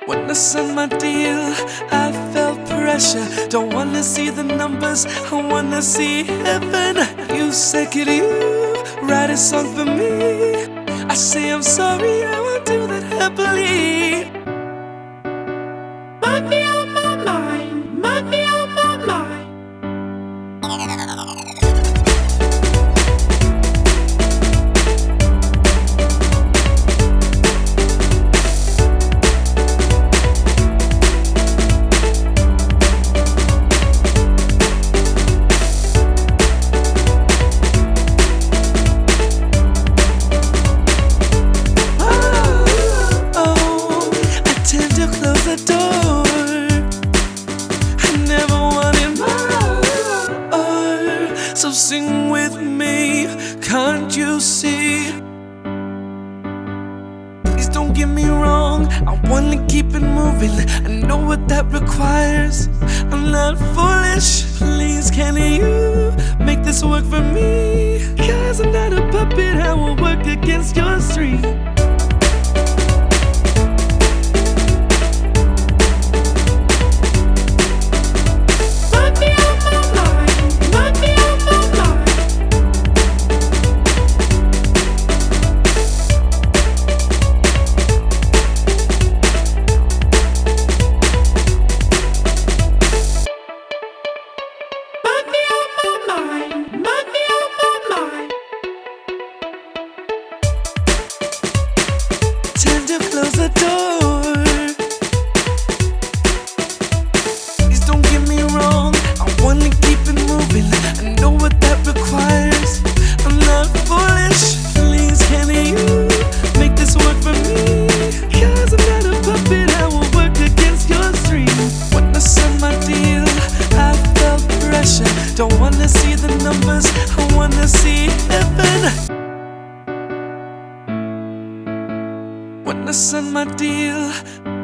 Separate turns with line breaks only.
When I signed my deal, I felt pressure. Don't wanna see the numbers, I wanna see heaven. You said, could you write a song for me? I say I'm sorry, I will do that happily.
Money on my mind, money on my mind.
So sing with me, can't you see? Please don't get me wrong, I wanna keep it moving. I know what that requires, I'm not foolish. Please can you make this work for me? Cause I'm not a puppet, I will work against your stream. Time to close the door. Please don't get me wrong, I wanna keep it moving. I know what that requires, I'm not foolish. Please can you make this work for me? Cause I'm not a puppet, I will work against your stream. When I signed my deal, I felt pressure. Don't wanna see the numbers, I wanna see heaven. When I signed my deal,